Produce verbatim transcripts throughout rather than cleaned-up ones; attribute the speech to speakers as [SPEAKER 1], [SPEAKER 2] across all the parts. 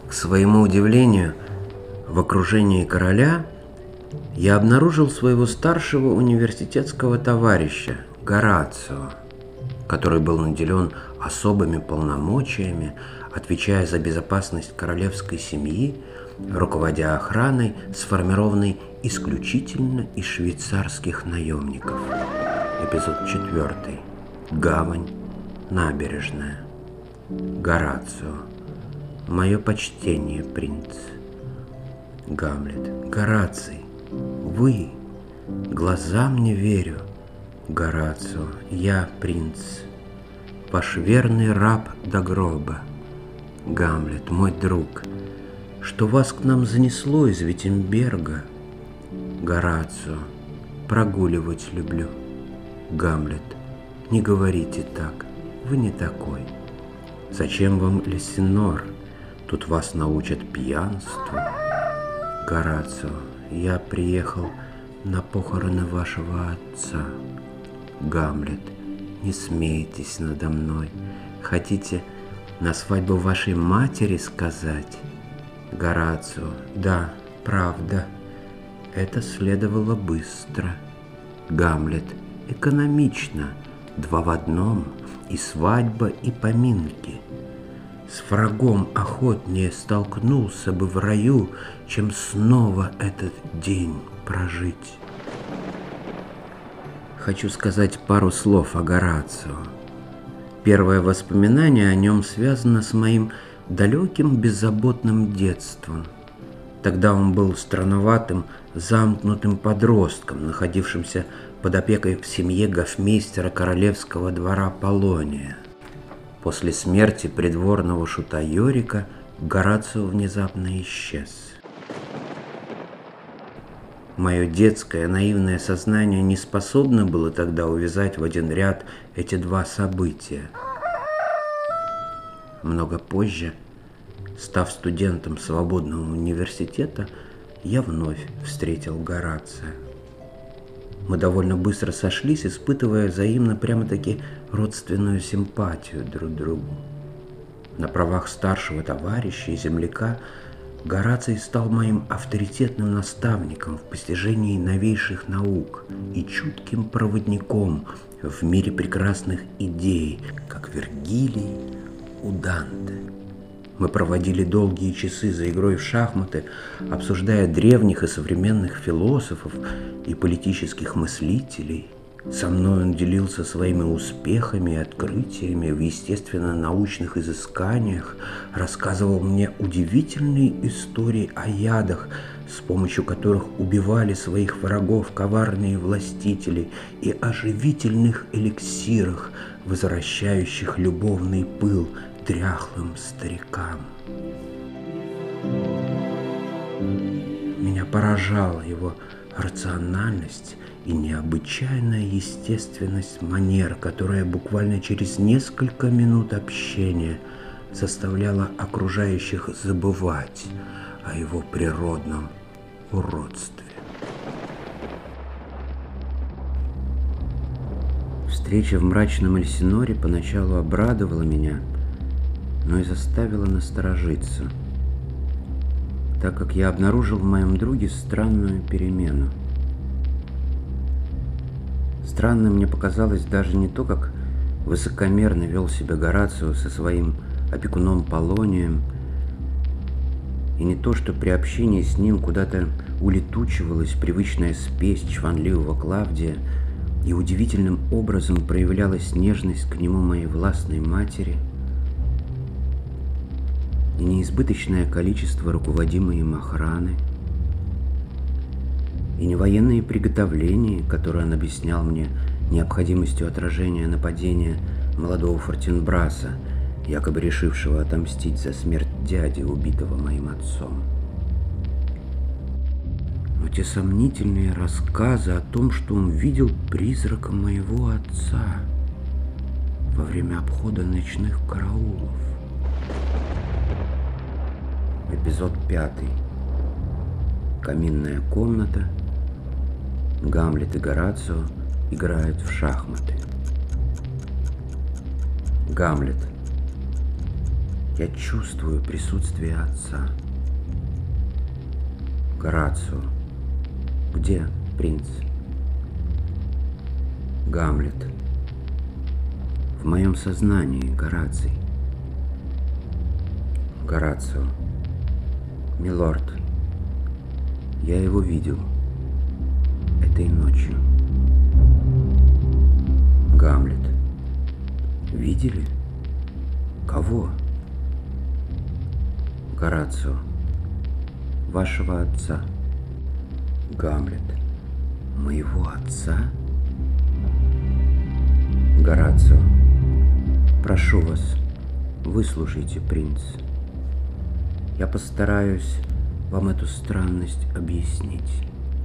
[SPEAKER 1] К своему удивлению, в окружении короля я обнаружил своего старшего университетского товарища Горацио, который был наделен особыми полномочиями, отвечая за безопасность королевской семьи, руководя охраной, сформированной исключительно из швейцарских наемников. Эпизод четвертый. Гавань. Набережная. Горацио. Мое почтение, принц. Гамлет. Гораций. Вы. Глазам не верю. Горацио. Я, принц. Ваш верный раб до гроба. Гамлет. Мой друг. Что вас к нам занесло из Виттенберга? Горацио. Прогуливать люблю. Гамлет. Не говорите так. Вы не такой. Зачем вам Лессинор? Тут вас научат пьянству. Горацио. Я приехал на похороны вашего отца. Гамлет. Не смейтесь надо мной. Хотите на свадьбу вашей матери сказать? Горацио. Да, правда. Это следовало быстро. Гамлет. Экономично. Два в одном. И свадьба, и поминки. С врагом охотнее столкнулся бы в раю, чем снова этот день прожить. Хочу сказать пару слов о Горацио. Первое воспоминание о нем связано с моим далеким беззаботным детством. Тогда он был странноватым, замкнутым подростком, находившимся под опекой в семье гофмейстера королевского двора Полония. После смерти придворного шута Йорика Горацио внезапно исчез. Мое детское наивное сознание не способно было тогда увязать в один ряд эти два события. Много позже, став студентом свободного университета, я вновь встретил Горацио. Мы довольно быстро сошлись, испытывая взаимно прямо-таки родственную симпатию друг к другу. На правах старшего товарища и земляка Гораций стал моим авторитетным наставником в постижении новейших наук и чутким проводником в мире прекрасных идей, как Вергилий у Данте. Мы проводили долгие часы за игрой в шахматы, обсуждая древних и современных философов и политических мыслителей. Со мной он делился своими успехами и открытиями в естественно-научных изысканиях, рассказывал мне удивительные истории о ядах, с помощью которых убивали своих врагов коварные властители, и о живительных эликсирах, возвращающих любовный пыл дряхлым старикам. Меня поражала его рациональность и необычайная естественность манер, которая буквально через несколько минут общения заставляла окружающих забывать о его природном уродстве. Встреча в мрачном Эльсиноре поначалу обрадовала меня, но и заставила насторожиться, так как я обнаружил в моем друге странную перемену. Странным мне показалось даже не то, как высокомерно вел себя Горацио со своим опекуном Полонием, и не то, что при общении с ним куда-то улетучивалась привычная спесь чванливого Клавдия, и удивительным образом проявлялась нежность к нему моей властной матери, и неизбыточное количество руководимой им охраны, и не военные приготовления, которые он объяснял мне необходимостью отражения нападения молодого Фортинбраса, якобы решившего отомстить за смерть дяди, убитого моим отцом. Но те сомнительные рассказы о том, что он видел призрака моего отца во время обхода ночных караулов. Эпизод пятый. Каминная комната. Гамлет и Горацио играют в шахматы. Гамлет. Я чувствую присутствие отца. Горацио. Где принц? Гамлет. В моем сознании, Гораций. Горацио. Милорд. Я его видел этой ночью. Гамлет. Видели? Кого? Горацио. Вашего отца. Гамлет. Моего отца? Горацио. Прошу вас, выслушайте, принц. Я постараюсь вам эту странность объяснить.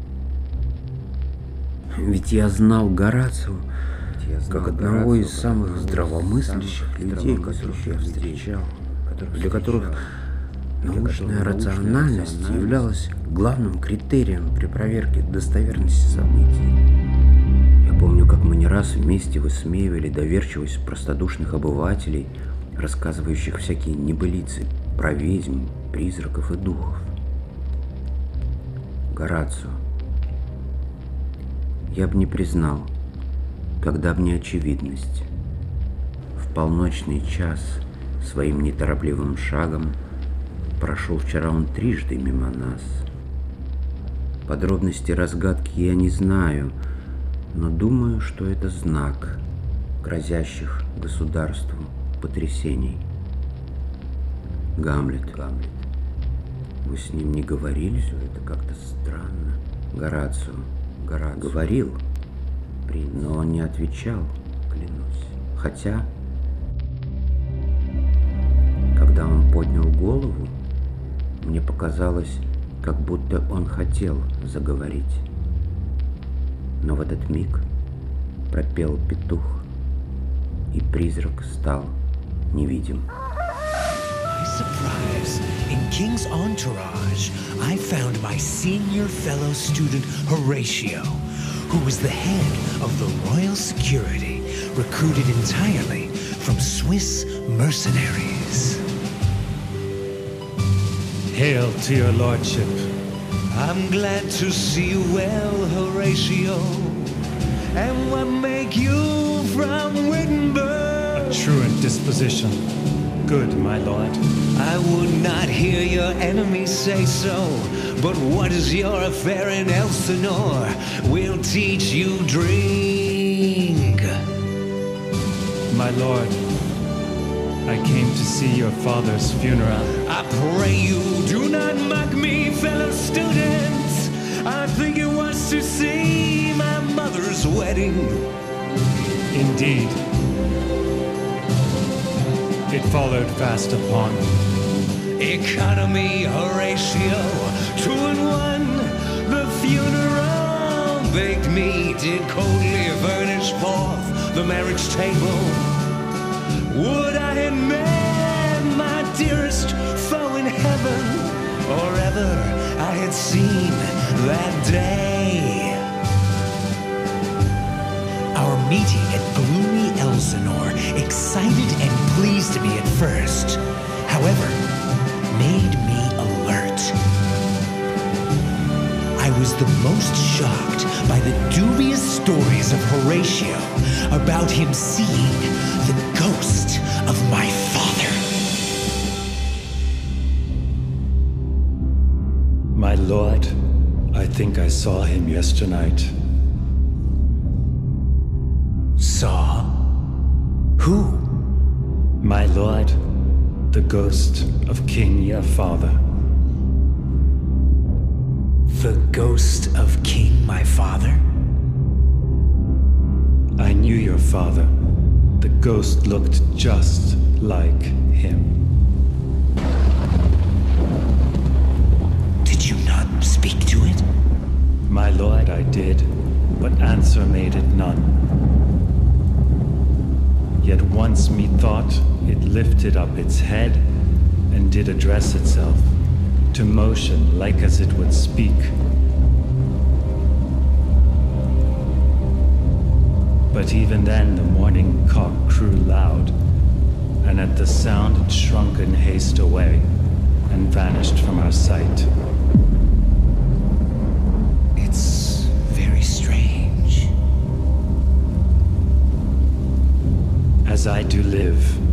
[SPEAKER 1] Ведь я знал Горацио как одного из самых здравомыслящих людей, которых я встречал, для которых научная рациональность являлась главным критерием при проверке достоверности событий. Я помню, как мы не раз вместе высмеивали доверчивость простодушных обывателей, рассказывающих всякие небылицы про ведьм, призраков и духов. Горацио. Я бы не признал, когда б не очевидность. В полночный час своим неторопливым шагом прошел вчера он трижды мимо нас. Подробности разгадки я не знаю, но думаю, что это знак грозящих государству потрясений. Гамлет. Гамлет. Вы с ним не говорили? Все это как-то странно. Горацио. Горацио. Говорил, но он не отвечал, клянусь. Хотя, когда он поднял голову, мне показалось, как будто он хотел заговорить. Но в этот миг пропел петух, и призрак стал невидим.
[SPEAKER 2] Surprise! In King's entourage, I found my senior fellow student Horatio, who was the head of the royal security, recruited entirely from Swiss mercenaries.
[SPEAKER 3] Hail to your lordship.
[SPEAKER 2] I'm glad to see you well, Horatio. And what make you from Wittenberg?
[SPEAKER 3] A truant disposition. Good, my lord.
[SPEAKER 2] I would not hear your enemies say so, but what is your affair in Elsinore? We'll teach you drink.
[SPEAKER 3] My lord, I came to see your father's funeral.
[SPEAKER 2] I pray you do not mock me, fellow students. I think it was to see my mother's wedding.
[SPEAKER 3] Indeed. It followed fast upon.
[SPEAKER 2] Economy, Horatio, two and one. The funeral, baked meat did coldly furnish forth the marriage table. Would I had met my dearest foe in heaven, or ever I had seen that day. Our meeting at gloomy Elsinore, excited and pleased to me at first, however, made me alert. I was the most shocked by the dubious stories of Horatio about him seeing the ghost of my father.
[SPEAKER 3] My lord, I think I saw him yesternight.
[SPEAKER 2] Saw? Who?
[SPEAKER 3] My lord, the ghost of King your father.
[SPEAKER 2] The ghost of King my father?
[SPEAKER 3] I knew your father. The ghost looked just like him.
[SPEAKER 2] Did you not speak to it?
[SPEAKER 3] My lord, I did, but answer made it none. Yet once methought it lifted up its head and did address itself, to motion like as it would speak. But even then the morning cock crew loud, and at the sound it shrunk in haste away and vanished from our sight.
[SPEAKER 2] It's very strange.
[SPEAKER 3] As I do live,